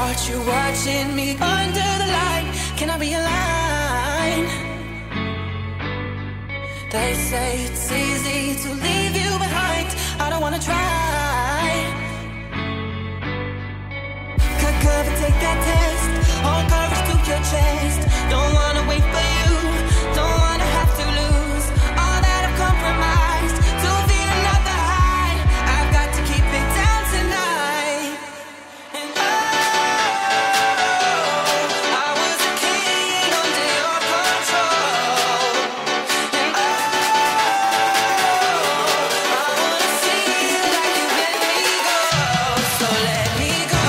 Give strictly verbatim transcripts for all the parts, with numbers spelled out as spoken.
heart, you're watching me under the light. Can I be a line? They say it's easy to leave you behind. I don't wanna try. Cut cover, take that test. Hold courage to your chest. Don't wanna wait for you. Don't wanna have to lose all that I've compromised to feel another high. I've got to keep it down tonight. And oh, I was a king under your control. And oh, I wanna see you like you let me go. So let me go.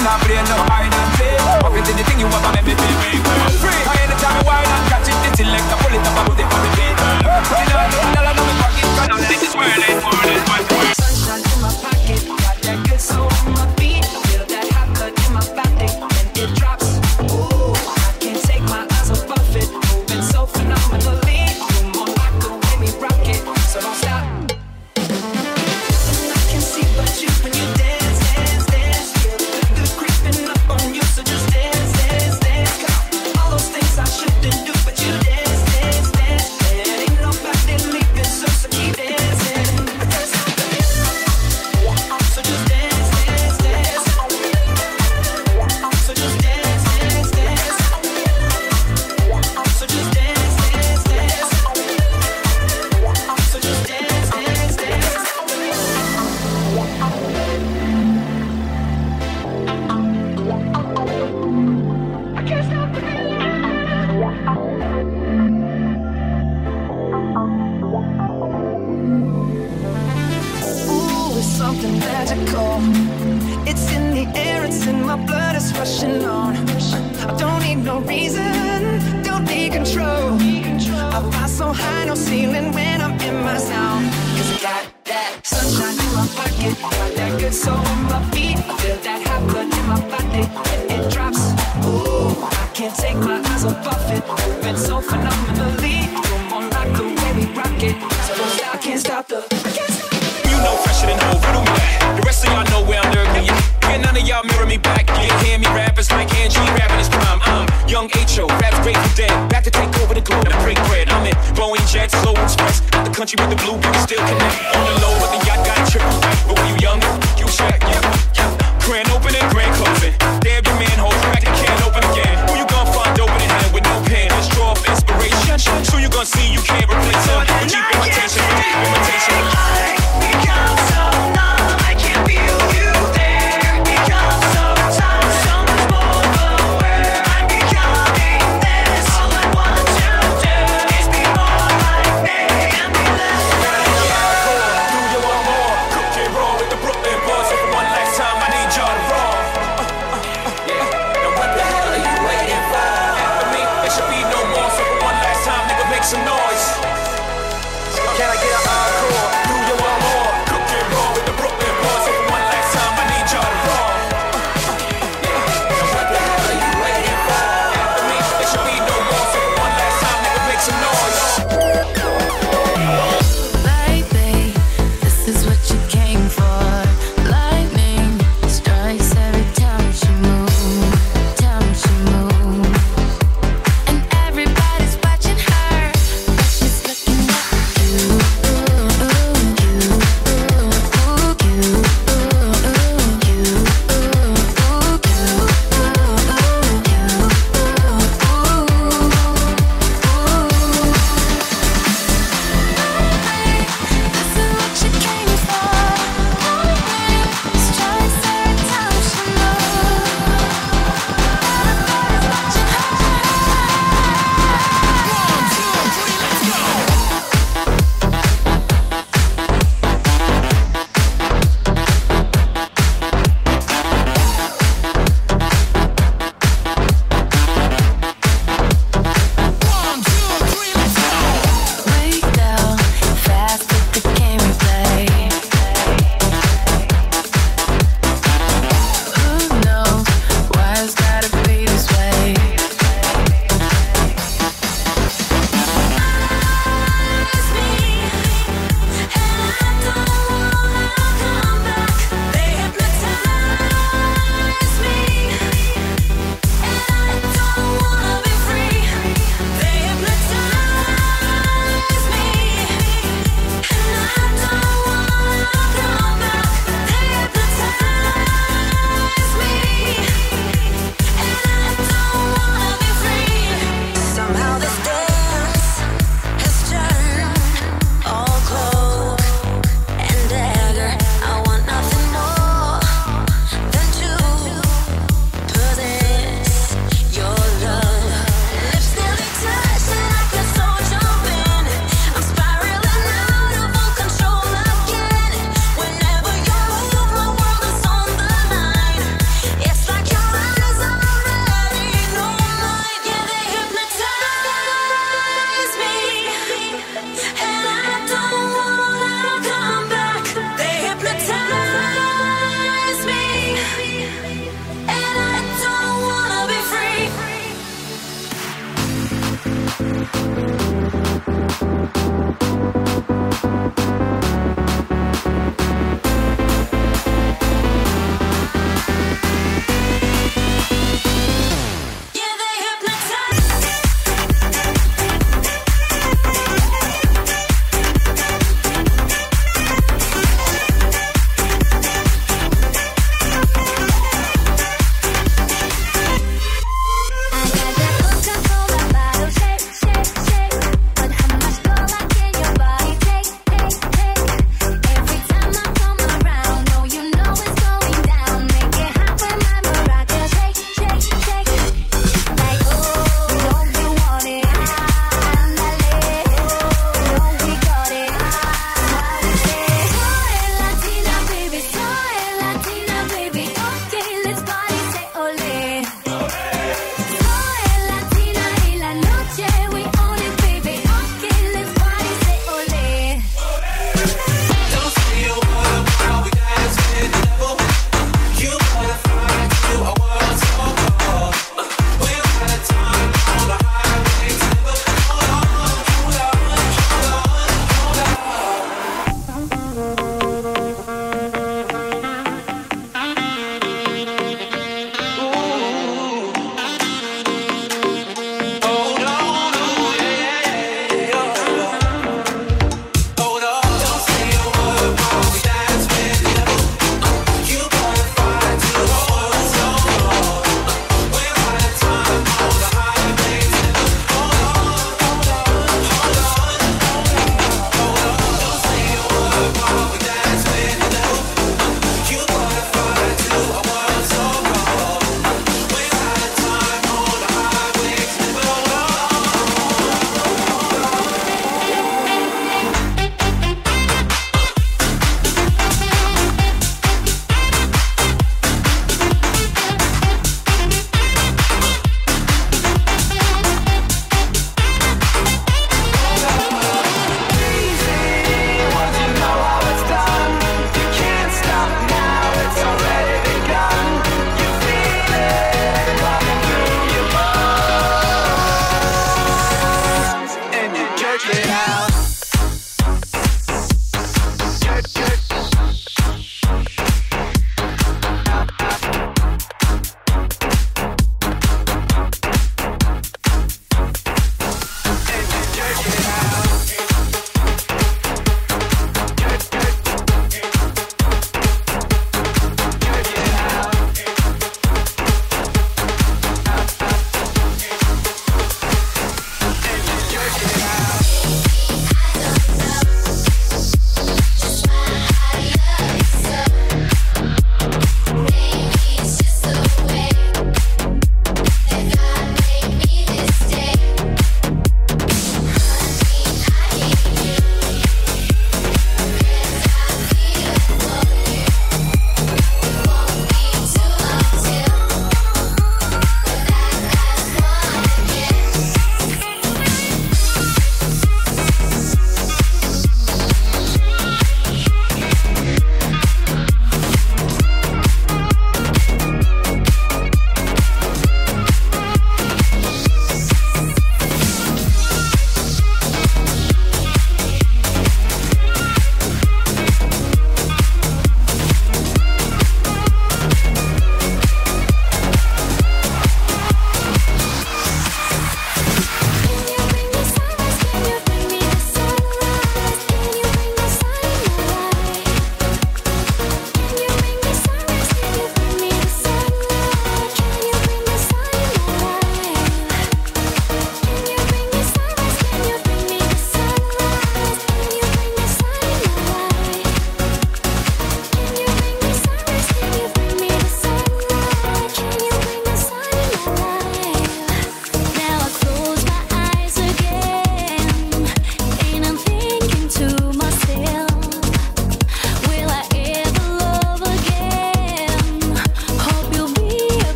I'm not playing no hide and play. Up into the thing you ever make me feel real. I'm free. I anytime I wild and catch it, the till like a bullet up, I put it on the beat. You know, nothing all I know me pocket, cause now this world ain't more than one world. Sunshine in my pocket, got that good soul in my feet. Feel that hot blood in my body when it drops. Ooh, I can't take my eyes off of it. Moving so phenomenally. You're more like the way we rock it, so don't stop. Nothing I can see but you when you dance, dance, dance. Feel the good creeping up on you, so just dance, dance, dance. Come on, all those things I shouldn't do, but you dance, dance, dance. And ain't nobody leaving, so so keep dancing. So just dance, dance, dance. So just dance, dance, dance. So just dance, dance, dance. So just dance, dance, dance. I can't stop the Ooh, it's something magical. It's in the air, it's in my blood, it's rushing on. I don't need no reason, don't need control. I fly so high, no ceiling when I'm in my zone. Cause I got that sunshine in my pocket, got that good soul in my feet. I feel that hot blood in my body when it drops. Ooh, I can't take my eyes off of it. Moving so phenomenally. You're more like the way we rock it. So don't stop, I can't stop the, I can't stop. You know fresher than whole, riddle me that. The rest of y'all know where I'm lurking. Can't none of y'all mirror me back. You ain't hear me rap, it's like Angie rapping his prime. I'm young H O, raps Grateful Dead. Back to take over the globe and break bread. I'm in Boeing Jets, Slow Express. Out the country with the blueberry still connect. On the low, but the yacht got triple. But when you young, you shack, yeah, yeah. Grand opening, grand closing. Damn your manhole, crack the can open again. Who you gonna find open in hand with no pen? Let's draw off inspiration. So you gonna see you can't replace him. With cheap imitation, with deep imitation. Become so numb, I can't feel you there. Become so tired, so much more aware. I'm becoming this. All I want to do is be more like me and be less like you. Do you want more?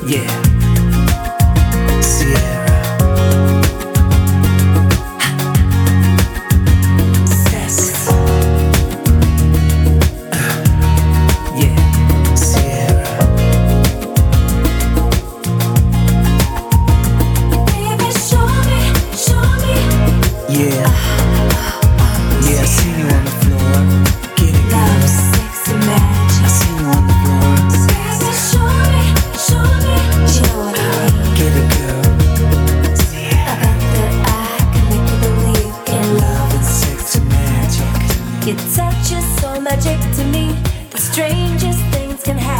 Yeah, Sierra. Sex. Uh, yeah, Sierra. Baby, show me, show me. Yeah, yeah, I seen you on the floor. Get it, Love, girl. sex, and magic. I seen you on the floor. Baby, show me, show me. You know what I mean? Get it, girl. I bet that I can make you believe in love. Love and sex and magic. Your touch is so magic to me. The strangest things can happen.